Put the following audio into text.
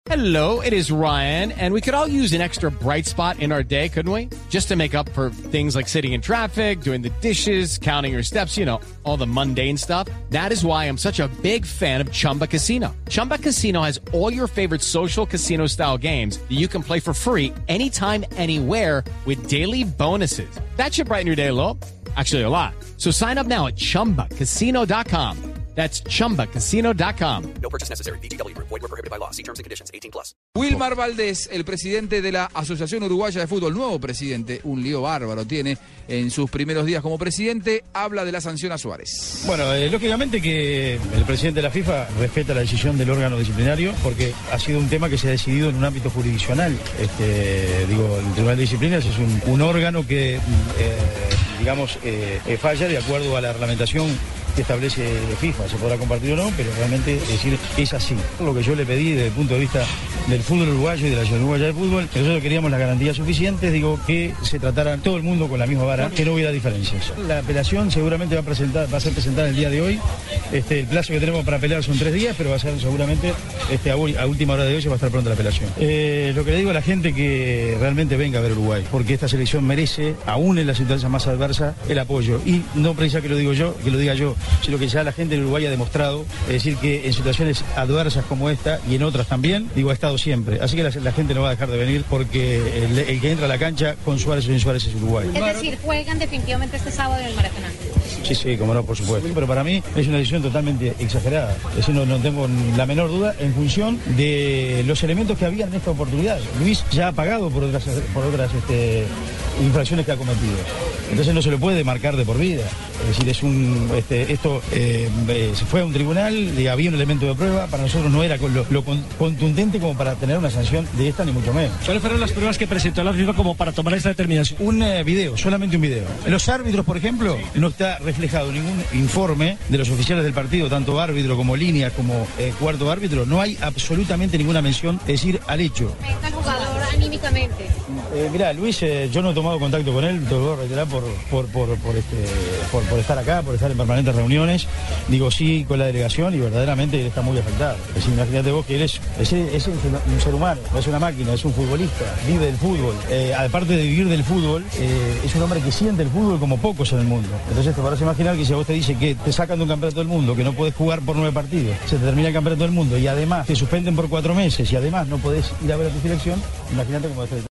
Hello, it is Ryan, and we could all use an extra bright spot in our day, couldn't we? Just to make up for things like sitting in traffic, doing the dishes, counting your steps, you know, all the mundane stuff. That is why I'm such a big fan of Chumba Casino. Chumba Casino has all your favorite social casino-style games that you can play for free anytime, anywhere with daily bonuses. That should brighten your day a little. Actually, a lot. So sign up now at ChumbaCasino.com. That's ChumbaCasino.com. No purchase necessary. VGW Group. Void where prohibited by law. See terms and conditions. 18+. Wilmar Valdés, el presidente de la Asociación Uruguaya de Fútbol, nuevo presidente, un lío bárbaro tiene en sus primeros días como presidente, habla de la sanción a Suárez. Bueno, lógicamente que el presidente de la FIFA respeta la decisión del órgano disciplinario porque ha sido un tema que se ha decidido en un ámbito jurisdiccional. El Tribunal de Disciplinas es un órgano que, falla de acuerdo a la reglamentación que establece FIFA. Se podrá compartir o no, pero realmente es así. Lo que yo le pedí desde el punto de vista del fútbol uruguayo y de la Asociación Uruguaya de Fútbol, que nosotros queríamos las garantías suficientes, que se tratara todo el mundo con la misma vara, que no hubiera diferencias. La apelación seguramente va a ser presentada el día de hoy. El plazo que tenemos para apelar son 3 días, pero va a ser seguramente a última hora de hoy se va a estar pronta la apelación. Lo que le digo a la gente que realmente venga a ver Uruguay, porque esta selección merece, aún en la situación más adversa, el apoyo. Y no precisa que lo diga yo, sino que ya la gente de Uruguay ha demostrado, es decir, que en situaciones adversas como esta y en otras también, ha estado siempre. Así que la gente no va a dejar de venir porque el que entra a la cancha con Suárez o sin Suárez es Uruguay. Es decir, juegan definitivamente este sábado en el Maracaná. Sí, como no, por supuesto. Pero para mí es una decisión totalmente exagerada. Es decir, no tengo la menor duda en función de los elementos que había en esta oportunidad. Luis ya ha pagado por otras infracciones que ha cometido. Entonces no se lo puede marcar de por vida. Es decir, esto se fue a un tribunal, había un elemento de prueba, para nosotros no era lo contundente como para tener una sanción de esta, ni mucho menos. ¿Cuáles fueron las pruebas que presentó la FIFA como para tomar esta determinación? Un video, solamente un video. Los árbitros, por ejemplo, no está reflejado ningún informe de los oficiales del partido, tanto árbitro como línea como cuarto árbitro, no hay absolutamente ninguna mención, es decir, al hecho. ¿Está el jugador anímicamente? Mirá, Luis, yo no he tomado contacto con él, te lo voy a reiterar por estar acá, por estar en permanentes reuniones, sí con la delegación y verdaderamente él está muy afectado. Es decir, imagínate vos que él es un ser humano, no es una máquina, es un futbolista, vive del fútbol. Aparte de vivir del fútbol, es un hombre que siente el fútbol como pocos en el mundo. Entonces te podrás imaginar que si a vos te dice que te sacan de un campeonato del mundo, que no podés jugar por 9 partidos, se te termina el campeonato del mundo y además te suspenden por 4 meses y además no podés ir a ver a tu selección, imagínate cómo es.